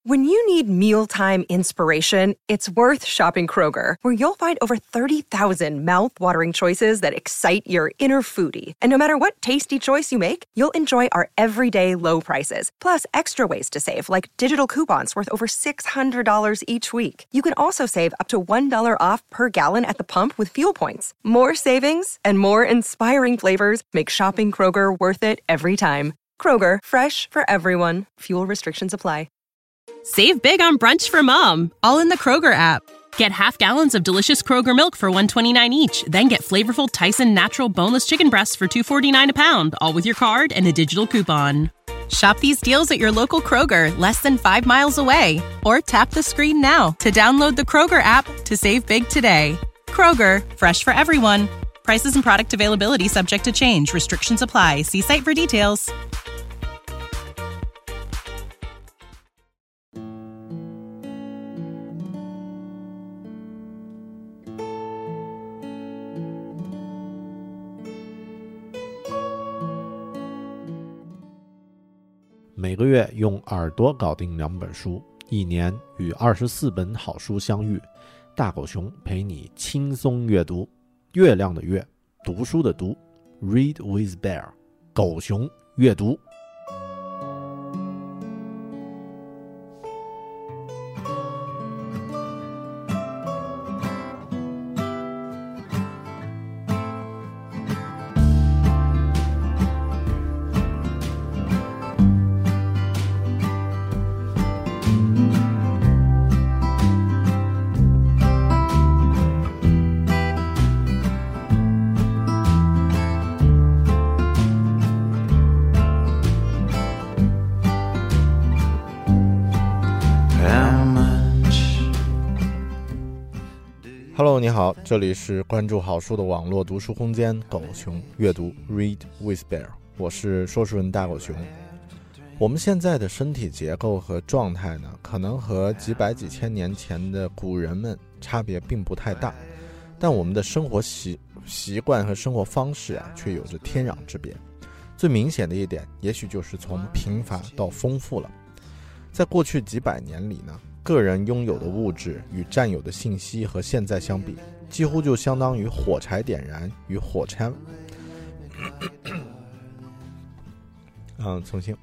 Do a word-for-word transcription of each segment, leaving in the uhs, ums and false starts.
When you need mealtime inspiration, it's worth shopping Kroger, where you'll find over thirty thousand mouth-watering choices that excite your inner foodie. And no matter what tasty choice you make, you'll enjoy our everyday low prices, plus extra ways to save, like digital coupons worth over six hundred dollars each week. You can also save up to one dollar off per gallon at the pump with fuel points. More savings and more inspiring flavors make shopping Kroger worth it every time. Kroger, fresh for everyone. Fuel restrictions apply. Save big on brunch for mom, all in the Kroger app. Get half gallons of delicious Kroger milk for one dollar and twenty-nine cents each. Then get flavorful Tyson natural boneless chicken breasts for two dollars and forty-nine cents a pound, all with your card and a digital coupon. Shop these deals at your local Kroger, less than five miles away. Or tap the screen now to download the Kroger app to save big today. Kroger, fresh for everyone. Prices and product availability subject to change. Restrictions apply. See site for details. 每个月用耳朵搞定两本书，一年与二十四本好书相遇。大狗熊陪你轻松阅读。月亮的月，读书的读 ，Read with Bear， 狗熊阅读。Hello， 你好，这里是关注好书的网络读书空间狗熊阅读 Read with Bear， 我是说书人大狗熊。我们现在的身体结构和状态呢，可能和几百几千年前的古人们差别并不太大，但我们的生活习习惯和生活方式啊，却有着天壤之别。最明显的一点，也许就是从贫乏到丰富了。在过去几百年里呢，个人拥有的物质与占有的信息和现在相比，几乎就相当于火柴点燃与火柴。嗯，重新。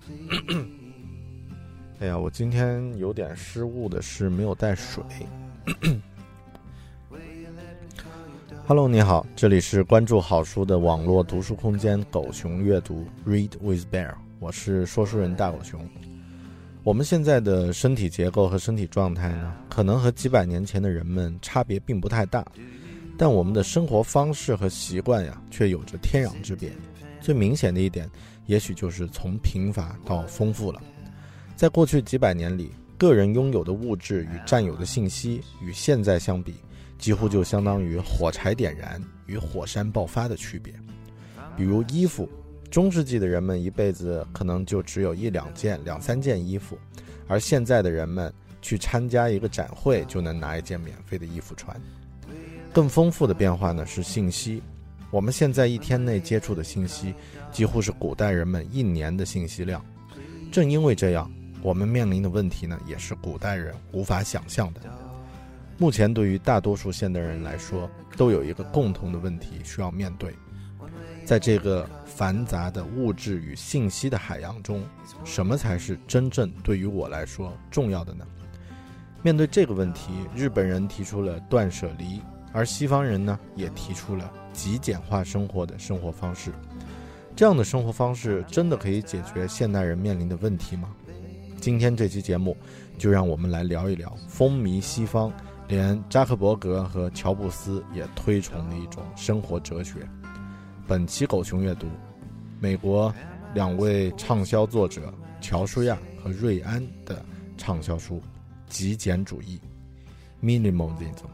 哎呀，我今天有点失误的是没有带水。Hello， 你好，这里是关注好书的网络读书空间狗熊阅读 Read with Bear， 我是说书人大狗熊。我们现在的身体结构和身体状态呢，可能和几百年前的人们差别并不太大，但我们的生活方式和习惯呀，却有着天壤之别。最明显的一点，也许就是从贫乏到丰富了。在过去几百年里，个人拥有的物质与占有的信息与现在相比，几乎就相当于火柴点燃与火山爆发的区别。比如衣服，中世纪的人们一辈子可能就只有一两件、两三件衣服，而现在的人们去参加一个展会就能拿一件免费的衣服穿。更丰富的变化呢是信息，我们现在一天内接触的信息几乎是古代人们一年的信息量。正因为这样，我们面临的问题呢也是古代人无法想象的。目前对于大多数现代人来说，都有一个共同的问题需要面对。在这个繁杂的物质与信息的海洋中，什么才是真正对于我来说重要的呢？面对这个问题，日本人提出了断舍离，而西方人呢，也提出了极简化生活的生活方式。这样的生活方式真的可以解决现代人面临的问题吗？今天这期节目就让我们来聊一聊风靡西方，连扎克伯格和乔布斯也推崇的一种生活哲学。本期狗熊阅读，美国两位畅销作者乔舒亚和瑞安的畅销书《极简主义》 Minimalism。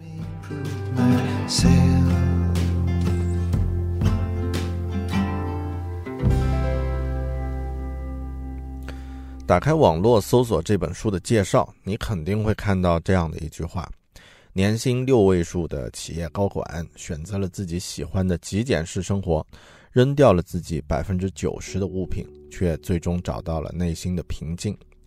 打开网络搜索这本书的介绍，你肯定会看到这样的一句话：年薪六位数的企业高管选择了自己喜欢的极简式生活，扔掉了自己 百分之九十 的物品，却最终找到了内心的平静。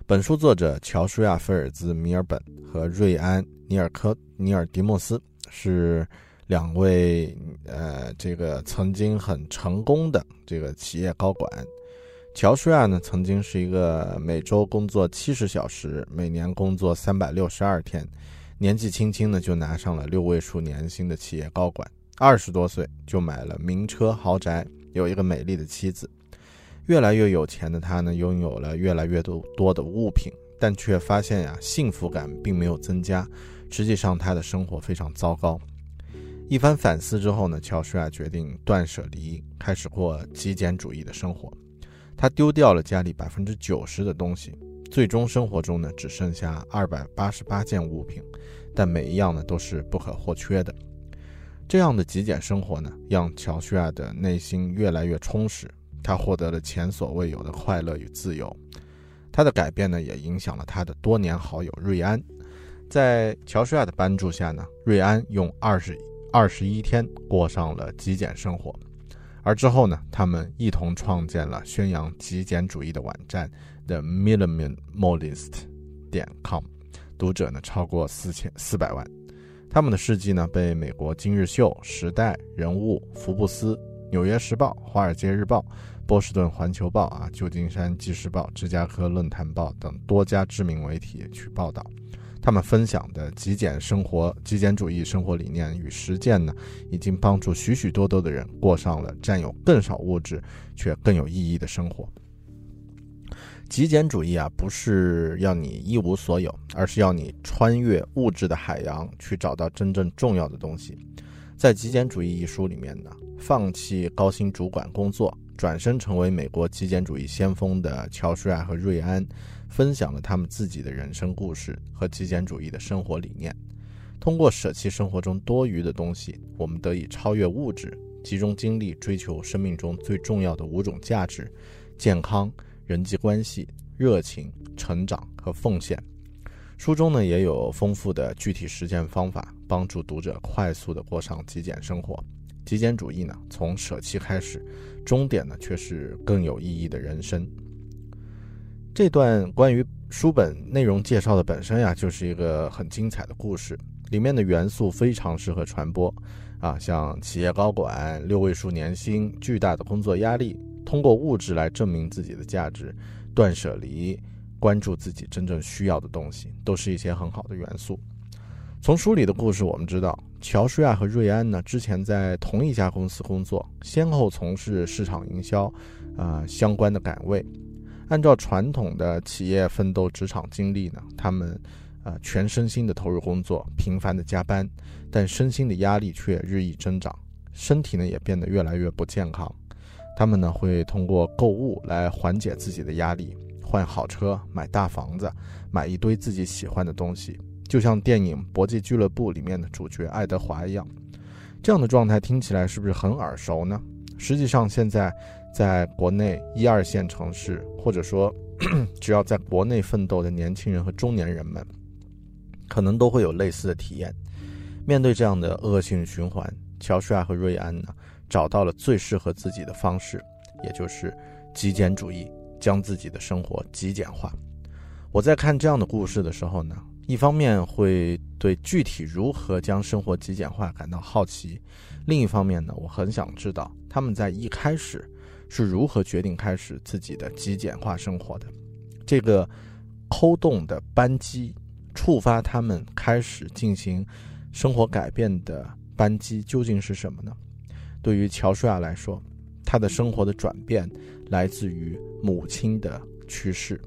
本书作者乔舒亚·菲尔兹·米尔本和瑞安·尼尔科尼尔迪莫斯是两位呃这个曾经很成功的这个企业高管。乔舒亚呢，曾经是一个每周工作七十小时，每年工作三百六十二天，年纪轻轻呢就拿上了六位数年薪的企业高管。二十多岁就买了名车豪宅，有一个美丽的妻子。越来越有钱的他呢，拥有了越来越多的物品，但却发现呀，幸福感并没有增加。实际上，他的生活非常糟糕。一番反思之后呢，乔舒亚决定断舍离，开始过极简主义的生活。他丢掉了家里 百分之九十 的东西，最终生活中呢，只剩下二百八十八件物品，但每一样呢都是不可或缺的。这样的极简生活呢，让乔舒亚的内心越来越充实。他获得了前所未有的快乐与自由。他的改变呢，也影响了他的多年好友瑞安。在乔舒亚的帮助下呢，瑞安用二十二十一天过上了极简生活。而之后呢，他们一同创建了宣扬极简主义的网站 The Minimalist 点 com， 读者呢超过四千四百万。他们的事迹呢，被美国今日秀、时代、人物、福布斯、纽约时报、华尔街日报、波士顿环球报啊、旧金山纪事报、芝加哥论坛报等多家知名媒体去报道。他们分享的极简生活、极简主义生活理念与实践呢，已经帮助许许多多的人过上了占有更少物质却更有意义的生活。极简主义啊，不是要你一无所有，而是要你穿越物质的海洋，去找到真正重要的东西。在《极简主义》一书里面呢，放弃高薪主管工作，转身成为美国极简主义先锋的乔舒亚和瑞安，分享了他们自己的人生故事和极简主义的生活理念。通过舍弃生活中多余的东西，我们得以超越物质，集中精力追求生命中最重要的五种价值：健康、人际关系、热情、成长和奉献。书中呢也有丰富的具体实践方法，帮助读者快速地过上极简生活。极简主义呢，从舍弃开始，终点呢却是更有意义的人生。这段关于书本内容介绍的本身呀，就是一个很精彩的故事，里面的元素非常适合传播啊，像企业高管、六位数年薪、巨大的工作压力，通过物质来证明自己的价值，断舍离，关注自己真正需要的东西，都是一些很好的元素。从书里的故事我们知道，乔舒亚和瑞安呢，之前在同一家公司工作，先后从事市场营销呃相关的岗位。按照传统的企业奋斗职场经历呢，他们呃全身心的投入工作，频繁的加班，但身心的压力却日益增长，身体呢也变得越来越不健康。他们呢会通过购物来缓解自己的压力，换好车，买大房子，买一堆自己喜欢的东西，就像电影《搏击俱乐部》里面的主角爱德华一样。这样的状态听起来是不是很耳熟呢？实际上现在在国内一二线城市，或者说只要在国内奋斗的年轻人和中年人们，可能都会有类似的体验。面对这样的恶性循环，乔舒亚和瑞安呢，找到了最适合自己的方式，也就是极简主义，将自己的生活极简化。我在看这样的故事的时候呢，一方面会对具体如何将生活极简化感到好奇，另一方面呢，我很想知道他们在一开始是如何决定开始自己的极简化生活的。这个扣动的扳机，触发他们开始进行生活改变的扳机究竟是什么呢？对于乔舒亚来说，他的生活的转变来自于母亲的去世。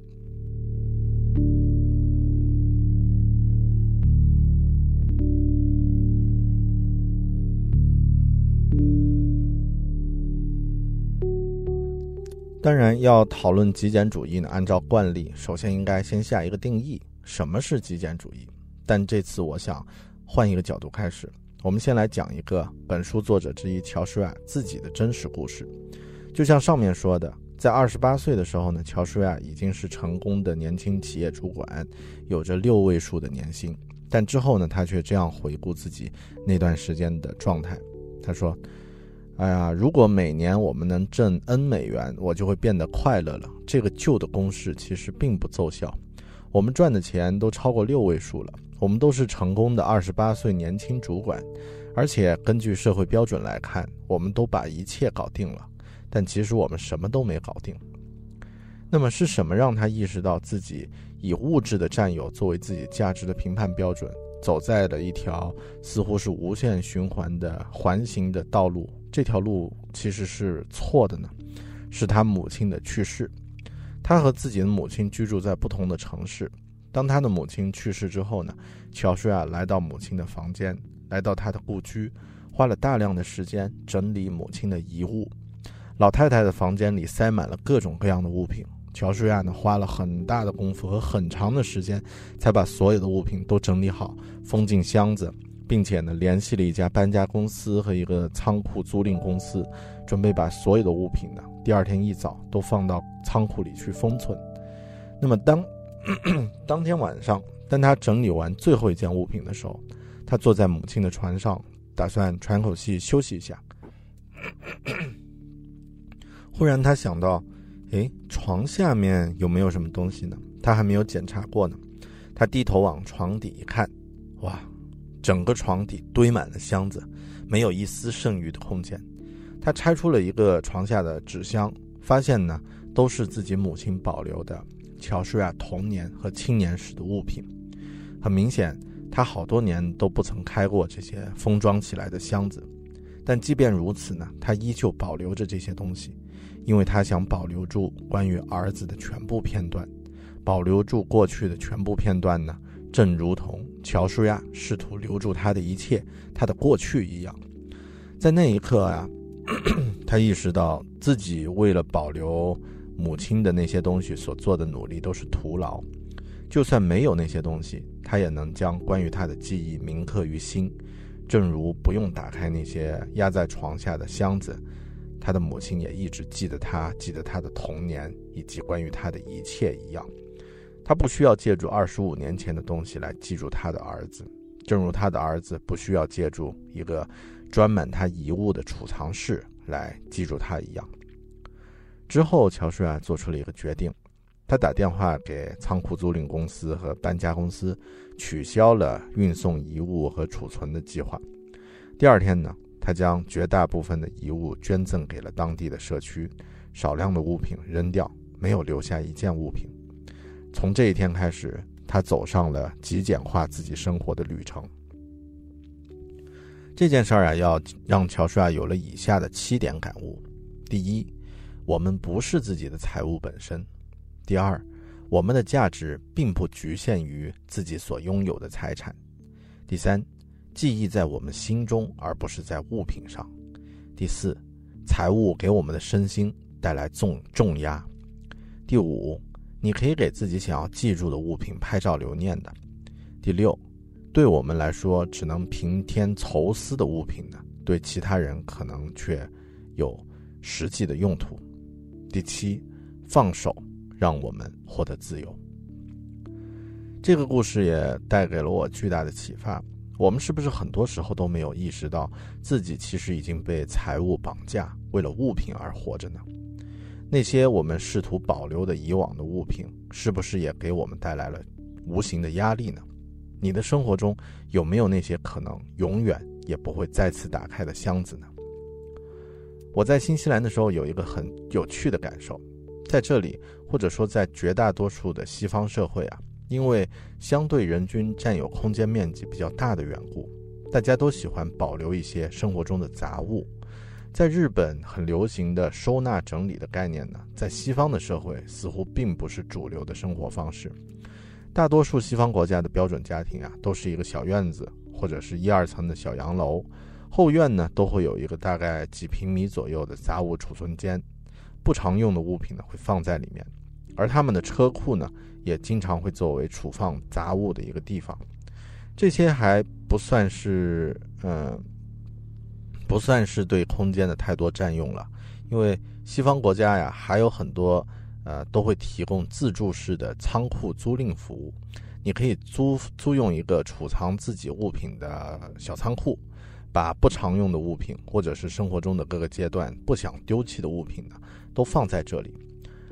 当然，要讨论极简主义呢，按照惯例，首先应该先下一个定义，什么是极简主义？但这次我想换一个角度开始，我们先来讲一个本书作者之一乔舒亚自己的真实故事。就像上面说的，在二十八岁的时候呢，乔舒亚已经是成功的年轻企业主管，有着六位数的年薪。但之后呢，他却这样回顾自己那段时间的状态，他说，哎呀，如果每年我们能挣 N 美元，我就会变得快乐了。这个旧的公式其实并不奏效， 我们赚的钱都超过六位数了，我们都是成功的二十八岁年轻主管，而且根据社会标准来看，我们都把一切搞定了，但其实我们什么都没搞定。那么是什么让他意识到自己以物质的占有作为自己价值的评判标准，走在了一条似乎是无限循环的环形的道路？这条路其实是错的呢？是他母亲的去世。他和自己的母亲居住在不同的城市。当他的母亲去世之后呢，乔舒亚来到母亲的房间，来到他的故居，花了大量的时间整理母亲的遗物。老太太的房间里塞满了各种各样的物品，乔舒亚呢花了很大的功夫和很长的时间，才把所有的物品都整理好，封进箱子，并且呢联系了一家搬家公司和一个仓库租赁公司，准备把所有的物品呢第二天一早都放到仓库里去封存。那么当当天晚上，当他整理完最后一件物品的时候，他坐在母亲的床上，打算喘口气休息一下。忽然他想到，诶，床下面有没有什么东西呢？他还没有检查过呢。他低头往床底一看，哇，整个床底堆满了箱子，没有一丝剩余的空间。他拆出了一个床下的纸箱，发现呢都是自己母亲保留的乔舒亚童年和青年时的物品。很明显，他好多年都不曾开过这些封装起来的箱子，但即便如此呢，他依旧保留着这些东西，因为他想保留住关于儿子的全部片段。保留住过去的全部片段呢，正如同乔舒亚试图留住他的一切，他的过去一样。在那一刻啊，他意识到自己为了保留母亲的那些东西所做的努力都是徒劳。就算没有那些东西，他也能将关于他的记忆铭刻于心，正如不用打开那些压在床下的箱子，他的母亲也一直记得他，记得他的童年以及关于他的一切一样。他不需要借助二十五年前的东西来记住他的儿子，正如他的儿子不需要借助一个专门他遗物的储藏室来记住他一样。之后乔舒亚做出了一个决定，他打电话给仓库租赁公司和搬家公司，取消了运送遗物和储存的计划。第二天呢，他将绝大部分的遗物捐赠给了当地的社区，少量的物品扔掉，没有留下一件物品。从这一天开始，他走上了极简化自己生活的旅程。这件事儿啊，要让乔舒亚有了以下的七点感悟：第一，我们不是自己的财物本身；第二，我们的价值并不局限于自己所拥有的财产；第三，记忆在我们心中而不是在物品上；第四，财物给我们的身心带来重重压；第五，你可以给自己想要记住的物品拍照留念的；第六，对我们来说只能平添愁思的物品呢，对其他人可能却有实际的用途；第七，放手，让我们获得自由。这个故事也带给了我巨大的启发。我们是不是很多时候都没有意识到自己其实已经被财务绑架，为了物品而活着呢？那些我们试图保留的以往的物品，是不是也给我们带来了无形的压力呢？你的生活中有没有那些可能永远也不会再次打开的箱子呢？我在新西兰的时候有一个很有趣的感受，在这里，或者说在绝大多数的西方社会啊，因为相对人均占有空间面积比较大的缘故，大家都喜欢保留一些生活中的杂物。在日本很流行的收纳整理的概念呢，在西方的社会似乎并不是主流的生活方式。大多数西方国家的标准家庭啊，都是一个小院子或者是一二层的小洋楼，后院呢都会有一个大概几平米左右的杂物储存间，不常用的物品呢会放在里面，而他们的车库呢也经常会作为储放杂物的一个地方。这些还不算是嗯、呃不算是对空间的太多占用了，因为西方国家呀还有很多呃都会提供自助式的仓库租赁服务。你可以租租用一个储藏自己物品的小仓库，把不常用的物品或者是生活中的各个阶段不想丢弃的物品呢都放在这里。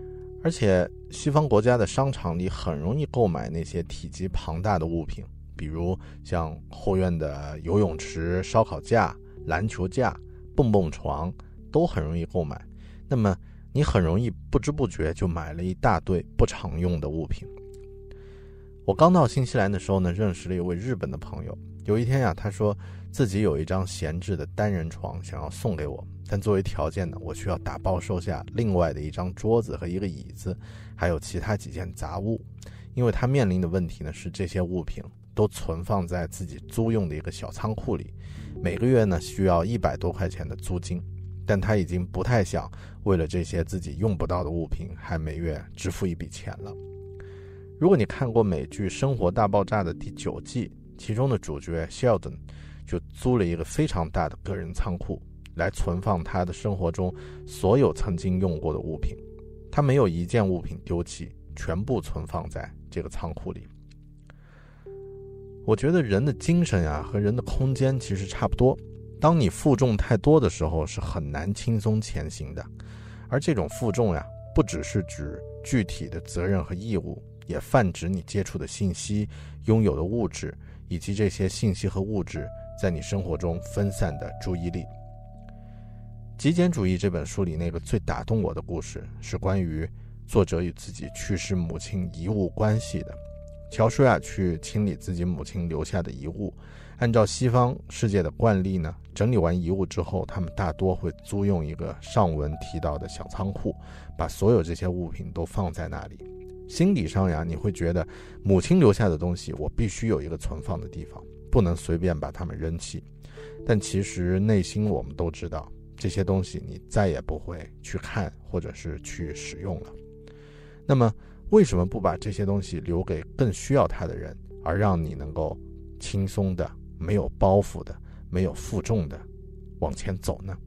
而且西方国家的商场里很容易购买那些体积庞大的物品，比如像后院的游泳池、烧烤架、篮球架、蹦蹦床都很容易购买。那么你很容易不知不觉就买了一大堆不常用的物品。我刚到新西兰的时候呢，认识了一位日本的朋友。有一天呀、啊，他说自己有一张闲置的单人床想要送给我，但作为条件呢，我需要打包收下另外的一张桌子和一个椅子，还有其他几件杂物。因为他面临的问题呢，是这些物品都存放在自己租用的一个小仓库里，每个月呢需要一百多块钱的租金，但他已经不太想为了这些自己用不到的物品还每月支付一笔钱了。如果你看过美剧《生活大爆炸》的第九季，其中的主角 Sheldon 就租了一个非常大的个人仓库来存放他的生活中所有曾经用过的物品，他没有一件物品丢弃，全部存放在这个仓库里。我觉得人的精神啊和人的空间其实差不多，当你负重太多的时候是很难轻松前行的，而这种负重呀，不只是指具体的责任和义务，也泛指你接触的信息、拥有的物质，以及这些信息和物质在你生活中分散的注意力。极简主义这本书里那个最打动我的故事，是关于作者与自己去世母亲遗物关系的。乔舒亚去清理自己母亲留下的遗物，按照西方世界的惯例呢，整理完遗物之后，他们大多会租用一个上文提到的小仓库，把所有这些物品都放在那里。心理上呀，你会觉得母亲留下的东西我必须有一个存放的地方，不能随便把它们扔弃。但其实内心我们都知道，这些东西你再也不会去看或者是去使用了。那么为什么不把这些东西留给更需要它的人，而让你能够轻松的、没有包袱的、没有负重的往前走呢？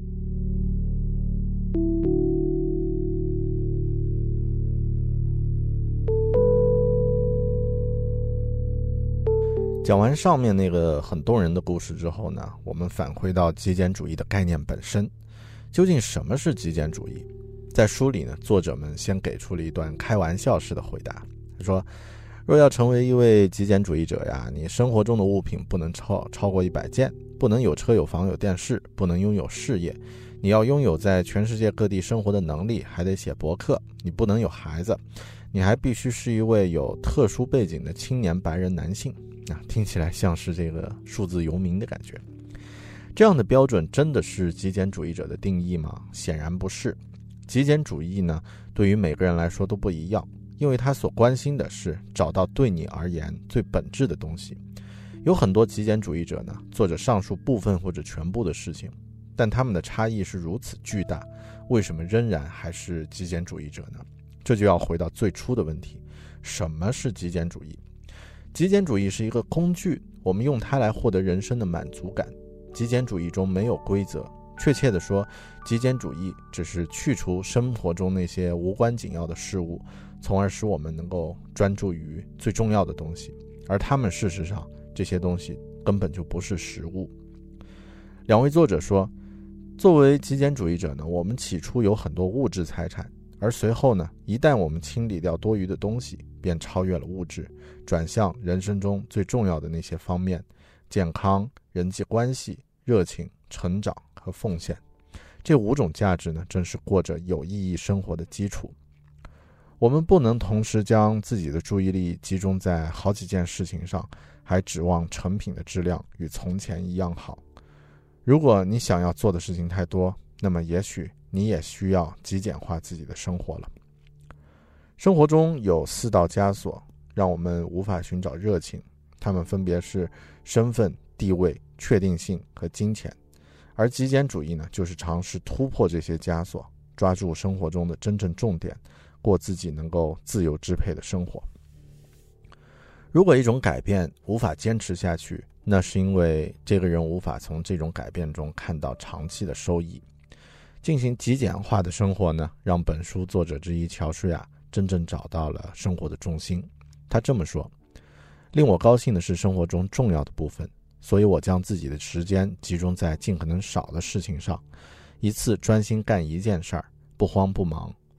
讲完上面那个很动人的故事之后呢，我们返回到极简主义的概念本身。究竟什么是极简主义？在书里呢，作者们先给出了一段开玩笑式的回答。他说，若要成为一位极简主义者呀，你生活中的物品不能超超过一百件，不能有车有房有电视，不能拥有事业，你要拥有在全世界各地生活的能力，还得写博客，你不能有孩子，你还必须是一位有特殊背景的青年白人男性。啊，听起来像是这个数字游民的感觉。这样的标准真的是极简主义者的定义吗？显然不是。极简主义呢，对于每个人来说都不一样，因为他所关心的是找到对你而言最本质的东西。有很多极简主义者呢，做着上述部分或者全部的事情，但他们的差异是如此巨大，为什么仍然还是极简主义者呢？这就要回到最初的问题，什么是极简主义？极简主义是一个工具，我们用它来获得人生的满足感。极简主义中没有规则，确切地说，极简主义只是去除生活中那些无关紧要的事物，从而使我们能够专注于最重要的东西，而它们事实上这些东西根本就不是实物。两位作者说，作为极简主义者呢，我们起初有很多物质财产，而随后呢，一旦我们清理掉多余的东西，便超越了物质，转向人生中最重要的那些方面：健康、人际关系、热情、成长和奉献。这五种价值呢，正是过着有意义生活的基础。我们不能同时将自己的注意力集中在好几件事情上，还指望成品的质量与从前一样好。如果你想要做的事情太多，那么也许你也需要极简化自己的生活了。生活中有四道枷锁，让我们无法寻找热情，它们分别是身份、地位、确定性和金钱。而极简主义呢，就是尝试突破这些枷锁，抓住生活中的真正重点，过自己能够自由支配的生活。如果一种改变无法坚持下去，那是因为这个人无法从这种改变中看到长期的收益。进行极简化的生活呢，让本书作者之一乔舒亚真正找到了生活的重心。他这么说，令我高兴的是生活中重要的部分，所以我将自己的时间集中在尽可能少的事情上，一次专心干一件事儿，不慌不忙，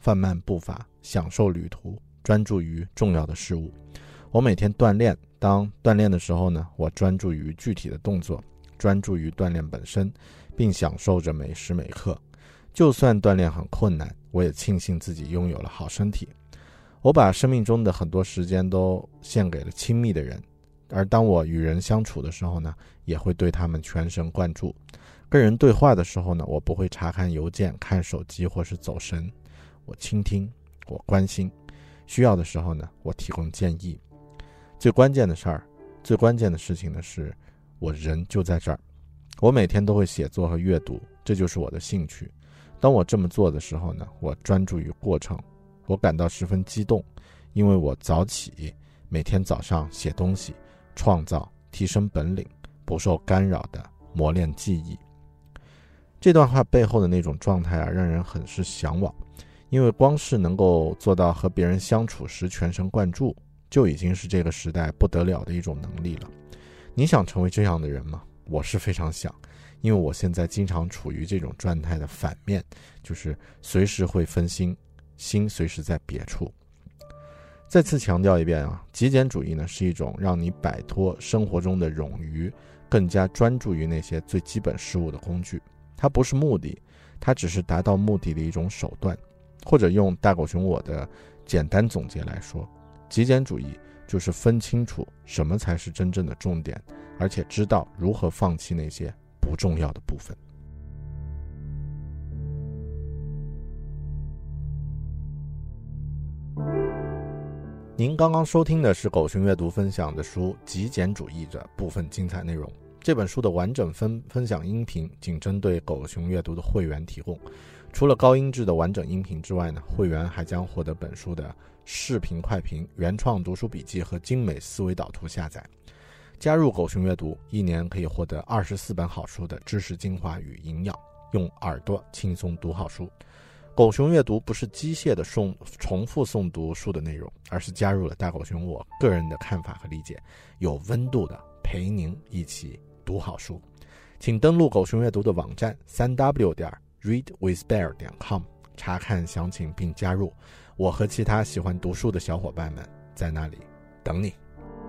放慢步伐，享受旅途，专注于重要的事物。我每天锻炼，当锻炼的时候呢，我专注于具体的动作，专注于锻炼本身，并享受着每时每刻。就算锻炼很困难，我也庆幸自己拥有了好身体。我把生命中的很多时间都献给了亲密的人，而当我与人相处的时候呢，也会对他们全神贯注。跟人对话的时候呢，我不会查看邮件、看手机或是走神，我倾听，我关心，需要的时候呢，我提供建议。最关键的事儿，最关键的事情呢，是我人就在这儿。我每天都会写作和阅读，这就是我的兴趣。当我这么做的时候呢，我专注于过程，我感到十分激动，因为我早起，每天早上写东西，创造，提升本领，不受干扰的磨练记忆。这段话背后的那种状态啊，让人很是向往，因为光是能够做到和别人相处时全神贯注，就已经是这个时代不得了的一种能力了。你想成为这样的人吗？我是非常想，因为我现在经常处于这种状态的反面，就是随时会分心，心随时在别处。再次强调一遍啊，极简主义呢是一种让你摆脱生活中的冗余，更加专注于那些最基本事物的工具。它不是目的，它只是达到目的的一种手段。或者用大狗熊我的简单总结来说，极简主义就是分清楚什么才是真正的重点，而且知道如何放弃那些不重要的部分。您刚刚收听的是狗熊阅读分享的书《极简主义》的部分精彩内容。这本书的完整分分享音频仅针对狗熊阅读的会员提供，除了高音质的完整音频之外呢，会员还将获得本书的视频快评、原创读书笔记和精美思维导图下载。加入狗熊阅读，一年可以获得二十四本好书的知识精华与营养，用耳朵轻松读好书。狗熊阅读不是机械的诵重复诵读书的内容，而是加入了大狗熊我个人的看法和理解，有温度的陪您一起读好书。请登录狗熊阅读的网站 三 w 点 read with bear 点 com 查看详情并加入，我和其他喜欢读书的小伙伴们在那里等你。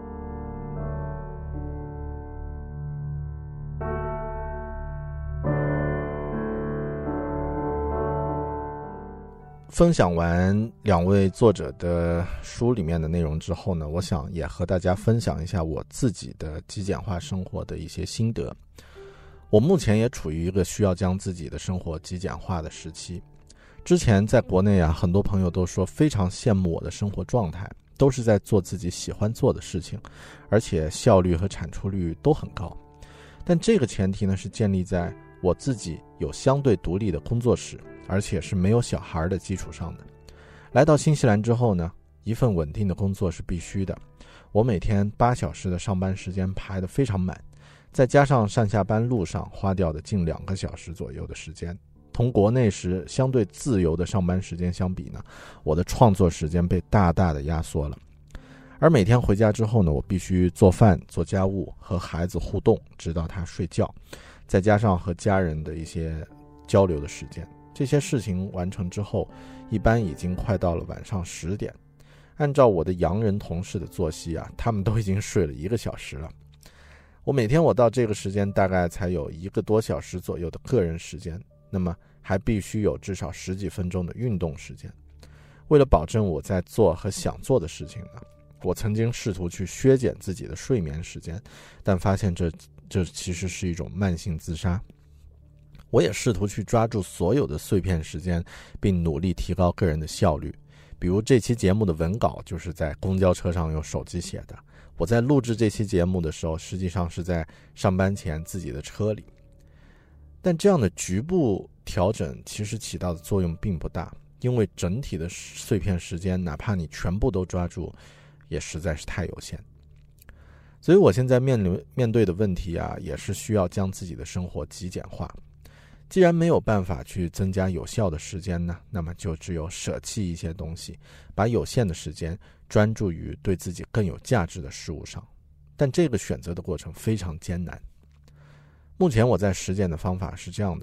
分享完两位作者的书里面的内容之后呢，我想也和大家分享一下我自己的极简化生活的一些心得。我目前也处于一个需要将自己的生活极简化的时期。之前在国内啊，很多朋友都说非常羡慕我的生活状态，都是在做自己喜欢做的事情，而且效率和产出率都很高。但这个前提呢，是建立在我自己有相对独立的工作室，而且是没有小孩的基础上的。来到新西兰之后呢，一份稳定的工作是必须的。我每天八小时的上班时间排得非常满，再加上上下班路上花掉的近两个小时左右的时间，同国内时相对自由的上班时间相比呢，我的创作时间被大大的压缩了。而每天回家之后呢，我必须做饭、做家务，和孩子互动，直到他睡觉，再加上和家人的一些交流的时间。这些事情完成之后，一般已经快到了晚上十点。按照我的洋人同事的作息啊，他们都已经睡了一个小时了。我每天我到这个时间大概才有一个多小时左右的个人时间，那么还必须有至少十几分钟的运动时间。为了保证我在做和想做的事情呢，我曾经试图去削减自己的睡眠时间，但发现这这其实是一种慢性自杀。我也试图去抓住所有的碎片时间，并努力提高个人的效率。比如这期节目的文稿就是在公交车上用手机写的，我在录制这期节目的时候，实际上是在上班前自己的车里。但这样的局部调整其实起到的作用并不大，因为整体的碎片时间，哪怕你全部都抓住，也实在是太有限。所以我现在面临面对的问题啊，也是需要将自己的生活极简化。既然没有办法去增加有效的时间呢，那么就只有舍弃一些东西，把有限的时间专注于对自己更有价值的事物上。但这个选择的过程非常艰难。目前我在实践的方法是这样的：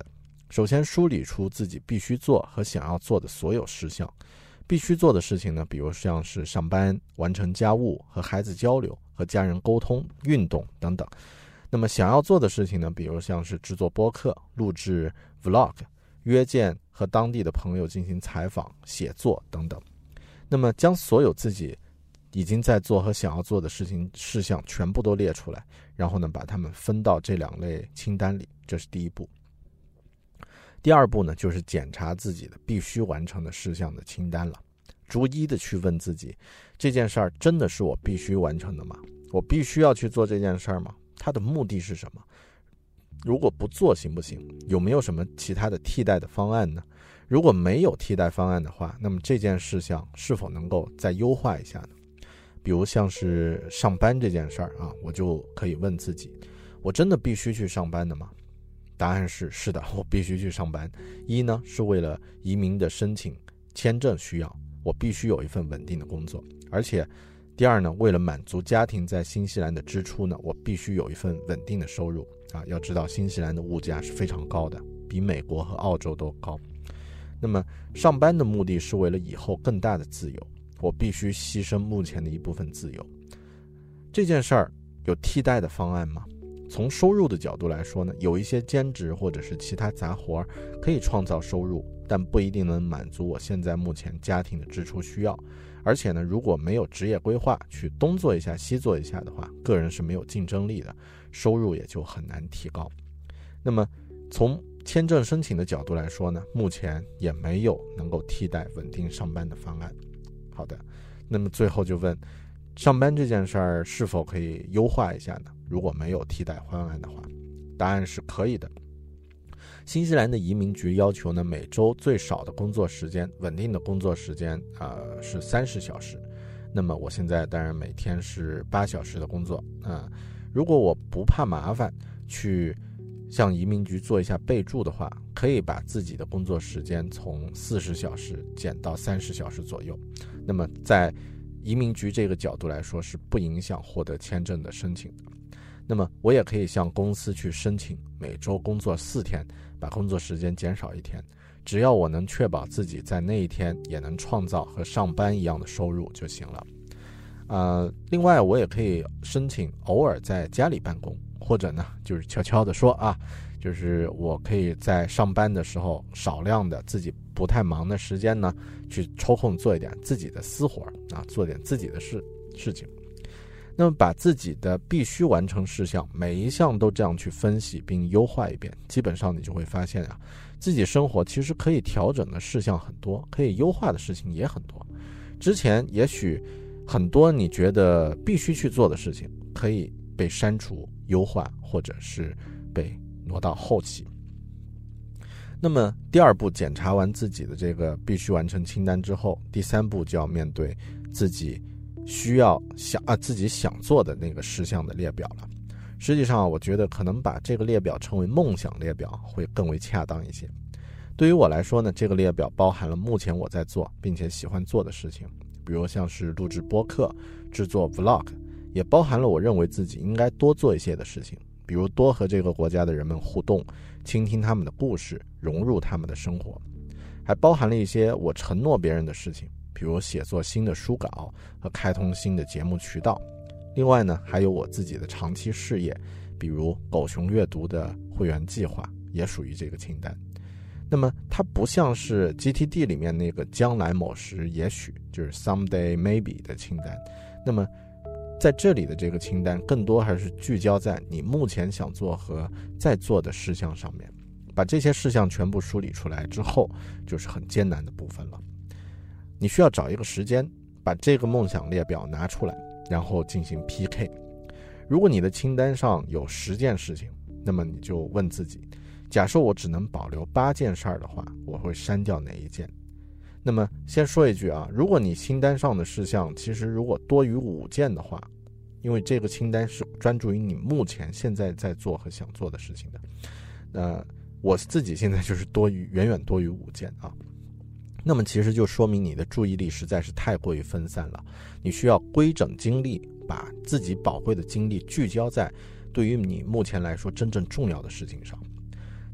首先梳理出自己必须做和想要做的所有事项。必须做的事情呢，比如像是上班、完成家务、和孩子交流、和家人沟通、运动等等。那么想要做的事情呢，比如像是制作播客、录制 vlog、约见和当地的朋友进行采访、写作等等。那么将所有自己已经在做和想要做的事情事项全部都列出来，然后呢把它们分到这两类清单里，这是第一步。第二步呢，就是检查自己的必须完成的事项的清单了，逐一的去问自己，这件事儿真的是我必须完成的吗？我必须要去做这件事儿吗？它的目的是什么？如果不做行不行？有没有什么其他的替代的方案呢？如果没有替代方案的话，那么这件事项是否能够再优化一下呢？比如像是上班这件事儿啊，我就可以问自己，我真的必须去上班的吗？答案是是的，我必须去上班。一呢，是为了移民的申请签证需要，我必须有一份稳定的工作。而且第二呢，为了满足家庭在新西兰的支出呢，我必须有一份稳定的收入啊。要知道新西兰的物价是非常高的，比美国和澳洲都高。那么上班的目的是为了以后更大的自由，我必须牺牲目前的一部分自由。这件事儿有替代的方案吗？从收入的角度来说呢，有一些兼职或者是其他杂活可以创造收入，但不一定能满足我现在目前家庭的支出需要。而且呢，如果没有职业规划，去东做一下西做一下的话，个人是没有竞争力的，收入也就很难提高。那么从签证申请的角度来说呢，目前也没有能够替代稳定上班的方案。好的，那么最后就问，上班这件事儿是否可以优化一下呢？如果没有替代方案的话，答案是可以的。新西兰的移民局要求呢，每周最少的工作时间，稳定的工作时间呃是三十小时。那么我现在当然每天是八小时的工作啊、呃。如果我不怕麻烦，去向移民局做一下备注的话，可以把自己的工作时间从四十小时减到三十小时左右。那么在移民局这个角度来说，是不影响获得签证的申请的。那么我也可以向公司去申请每周工作四天，把工作时间减少一天，只要我能确保自己在那一天也能创造和上班一样的收入就行了。呃，另外我也可以申请偶尔在家里办公，或者呢就是悄悄的说啊，就是我可以在上班的时候少量的自己不太忙的时间呢，去抽空做一点自己的私活啊，做点自己的事事情。那么把自己的必须完成事项每一项都这样去分析并优化一遍，基本上你就会发现啊，自己生活其实可以调整的事项很多，可以优化的事情也很多。之前也许很多你觉得必须去做的事情可以被删除、优化，或者是被挪到后期。那么第二步检查完自己的这个必须完成清单之后，第三步就要面对自己需要想啊自己想做的那个事项的列表了。实际上我觉得可能把这个列表称为梦想列表会更为恰当一些。对于我来说呢，这个列表包含了目前我在做并且喜欢做的事情，比如像是录制播客、制作 vlog， 也包含了我认为自己应该多做一些的事情，比如多和这个国家的人们互动，倾听他们的故事，融入他们的生活。还包含了一些我承诺别人的事情，比如写作新的书稿和开通新的节目渠道。另外呢，还有我自己的长期事业，比如狗熊阅读的会员计划也属于这个清单。那么它不像是 G T D 里面那个将来某时也许，就是 someday maybe 的清单。那么在这里的这个清单更多还是聚焦在你目前想做和在做的事项上面。把这些事项全部梳理出来之后，就是很艰难的部分了。你需要找一个时间，把这个梦想列表拿出来，然后进行 P K。 如果你的清单上有十件事情，那么你就问自己，假设我只能保留八件事儿的话，我会删掉哪一件？那么先说一句啊，如果你清单上的事项其实如果多于五件的话，因为这个清单是专注于你目前现在在做和想做的事情的，呃，我自己现在就是多于远远多于五件啊。那么其实就说明你的注意力实在是太过于分散了，你需要规整精力，把自己宝贵的精力聚焦在对于你目前来说真正重要的事情上。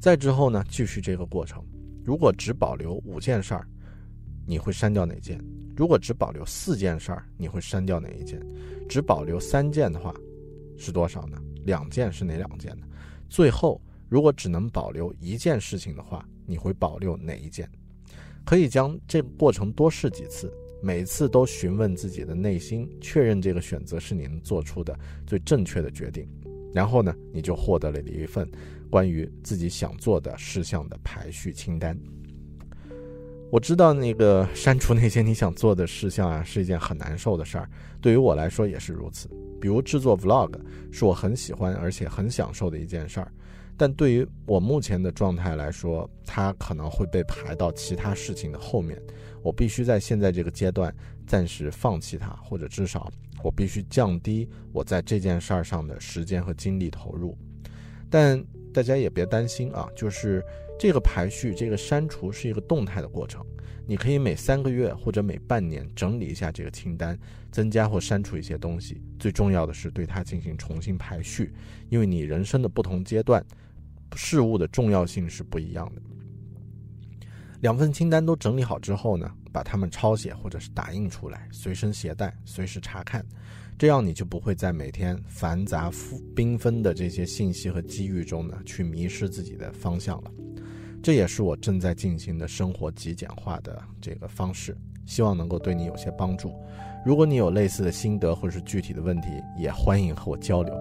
再之后呢，继续这个过程。如果只保留五件事儿，你会删掉哪件？如果只保留四件事儿，你会删掉哪一件？只保留三件的话是多少呢？两件是哪两件呢？最后如果只能保留一件事情的话，你会保留哪一件？可以将这个过程多试几次，每次都询问自己的内心，确认这个选择是你能做出的最正确的决定。然后呢，你就获得了一份关于自己想做的事项的排序清单。我知道那个删除那些你想做的事项啊，是一件很难受的事儿，对于我来说也是如此。比如制作 vlog 是我很喜欢而且很享受的一件事儿，但对于我目前的状态来说，它可能会被排到其他事情的后面。我必须在现在这个阶段暂时放弃它，或者至少我必须降低我在这件事儿上的时间和精力投入。但大家也别担心啊，就是这个排序，这个删除是一个动态的过程，你可以每三个月或者每半年整理一下这个清单，增加或删除一些东西。最重要的是对它进行重新排序，因为你人生的不同阶段事物的重要性是不一样的。两份清单都整理好之后呢，把它们抄写或者是打印出来，随身携带，随时查看，这样你就不会在每天繁杂缤纷的这些信息和机遇中呢，去迷失自己的方向了。这也是我正在进行的生活极简化的这个方式，希望能够对你有些帮助。如果你有类似的心得或是具体的问题，也欢迎和我交流。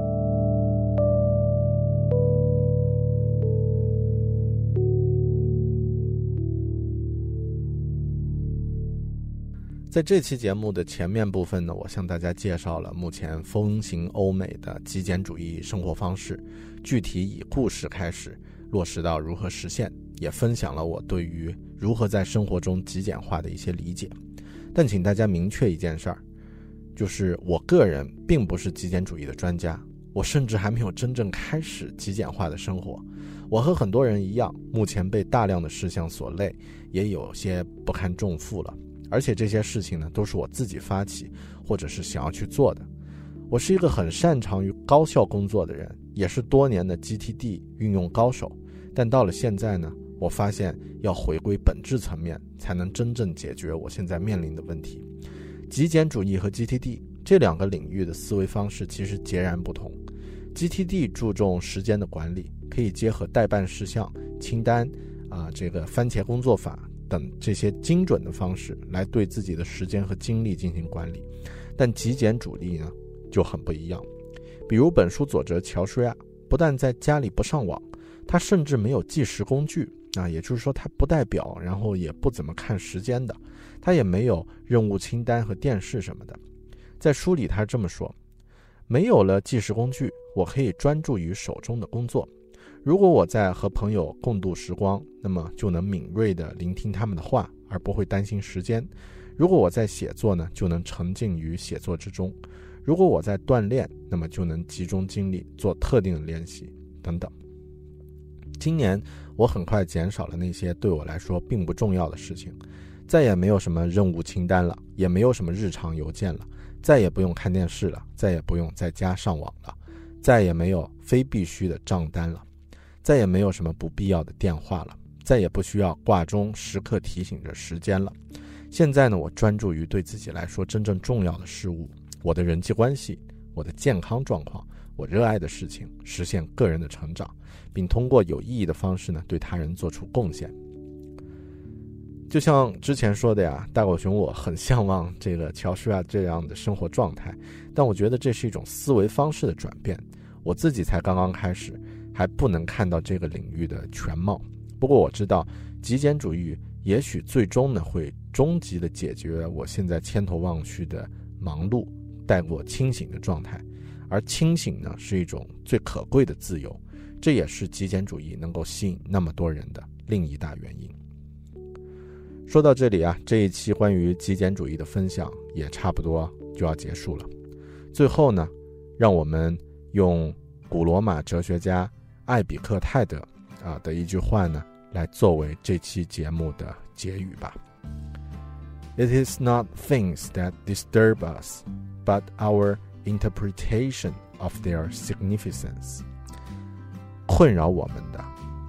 在这期节目的前面部分呢，我向大家介绍了目前风行欧美的极简主义生活方式，具体以故事开始，落实到如何实现，也分享了我对于如何在生活中极简化的一些理解。但请大家明确一件事儿，就是我个人并不是极简主义的专家，我甚至还没有真正开始极简化的生活。我和很多人一样，目前被大量的事项所累，也有些不堪重负了。而且这些事情呢，都是我自己发起或者是想要去做的。我是一个很擅长于高效工作的人，也是多年的 G T D 运用高手。但到了现在呢，我发现要回归本质层面，才能真正解决我现在面临的问题。极简主义和 G T D 这两个领域的思维方式其实截然不同。G T D 注重时间的管理，可以结合待办事项、清单啊，这个番茄工作法等这些精准的方式来对自己的时间和精力进行管理。但极简主义呢就很不一样。比如本书作者乔舒亚不但在家里不上网，他甚至没有计时工具啊，也就是说他不带表，然后也不怎么看时间的，他也没有任务清单和电视什么的。在书里他这么说，没有了计时工具，我可以专注于手中的工作。如果我在和朋友共度时光，那么就能敏锐地聆听他们的话，而不会担心时间。如果我在写作呢，就能沉浸于写作之中。如果我在锻炼，那么就能集中精力做特定的练习等等。今年我很快减少了那些对我来说并不重要的事情，再也没有什么任务清单了，也没有什么日常邮件了，再也不用看电视了，再也不用在家上网了，再也没有非必须的账单了，再也没有什么不必要的电话了，再也不需要挂钟时刻提醒着时间了。现在呢，我专注于对自己来说真正重要的事物，我的人际关系，我的健康状况，我热爱的事情，实现个人的成长，并通过有意义的方式呢，对他人做出贡献。就像之前说的呀，大狗熊我很向往这个乔舒亚这样的生活状态，但我觉得这是一种思维方式的转变，我自己才刚刚开始，还不能看到这个领域的全貌。不过我知道极简主义也许最终呢会终极的解决我现在千头万绪的忙碌，带我清醒的状态。而清醒呢是一种最可贵的自由，这也是极简主义能够吸引那么多人的另一大原因。说到这里啊，这一期关于极简主义的分享也差不多就要结束了。最后呢，让我们用古罗马哲学家艾比克泰德啊的一句话呢，来作为这期节目的结语吧。It is not things that disturb us, but our interpretation of their significance. 困扰我们的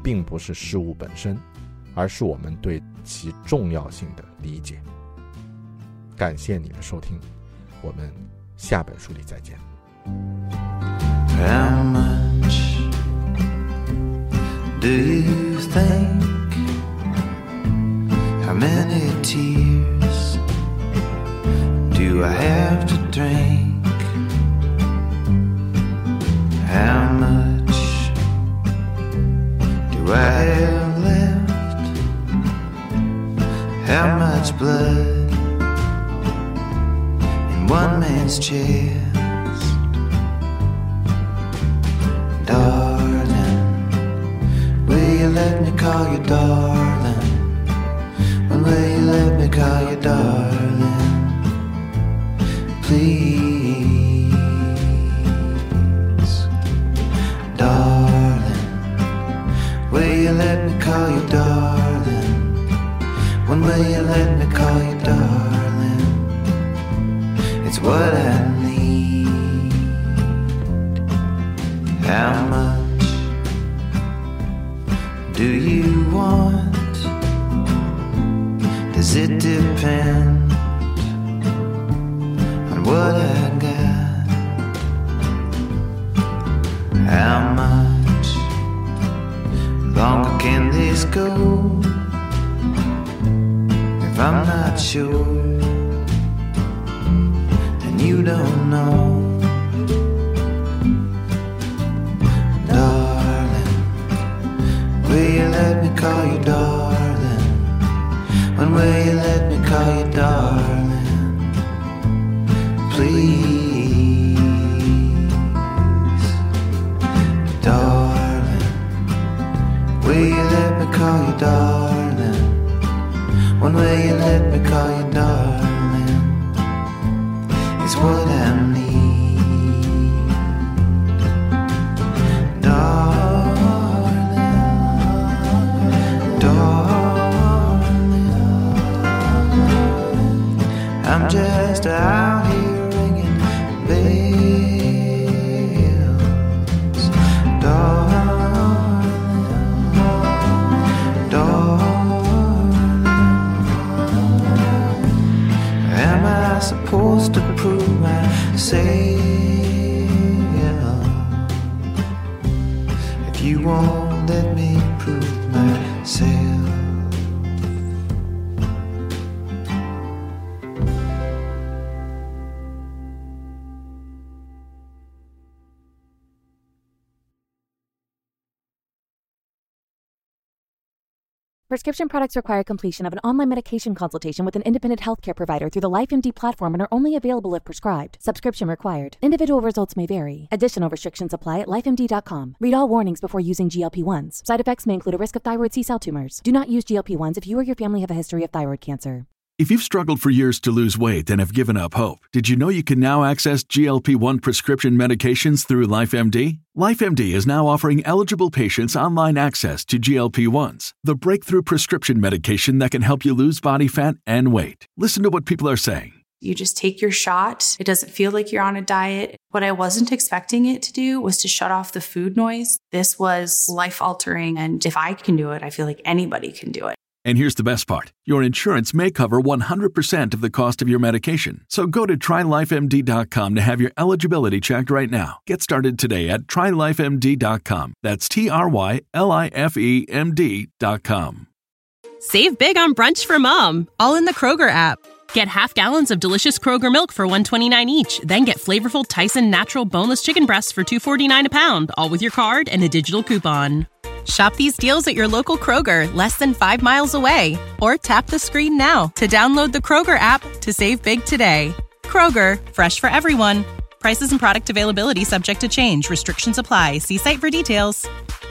并不是事物本身，而是我们对其重要性的理解。感谢你的收听，我们下本书里再见。 How much do you think? How many tears do I have to drink? How much do I have left? How much blood in one man's chest? Darling, will you let me call you darling? When will you let me call you darling? Please, darling, will you let me call you darling? When will you let me call you darling? It's what I need. How much do you want? Does it depend on what I got? How much longer can this go? If I'm not sure, then you don't know. Will you let me call you darling? When will you let me call you darling? Please, darling, will you let me call you darling? When will you let me call you darling? It's what I need, darling. I'm just out here ringing bells, darling, darling. Am I supposed to prove myself? If you won't let me prove myself. Prescription products require completion of an online medication consultation with an independent healthcare provider through the LifeMD platform and are only available if prescribed. Subscription required. Individual results may vary. Additional restrictions apply at life M D dot com. Read all warnings before using G L P ones. Side effects may include a risk of thyroid C-cell tumors. Do not use G L P ones if you or your family have a history of thyroid cancer. If you've struggled for years to lose weight and have given up hope, did you know you can now access G L P one prescription medications through LifeMD? LifeMD is now offering eligible patients online access to G L P ones, the breakthrough prescription medication that can help you lose body fat and weight. Listen to what people are saying. You just take your shot. It doesn't feel like you're on a diet. What I wasn't expecting it to do was to shut off the food noise. This was life-altering, and if I can do it, I feel like anybody can do it. And here's the best part. Your insurance may cover one hundred percent of the cost of your medication. So go to try life M D dot com to have your eligibility checked right now. Get started today at try life M D dot com. That's T R Y L I F E M D dot com. Save big on brunch for mom, all in the Kroger app. Get half gallons of delicious Kroger milk for one dollar and twenty-nine cents each. Then get flavorful Tyson natural boneless chicken breasts for two dollars and forty-nine cents a pound, all with your card and a digital coupon. Shop these deals at your local Kroger, less than five miles away. Or tap the screen now to download the Kroger app to save big today. Kroger, fresh for everyone. Prices and product availability subject to change. Restrictions apply. See site for details.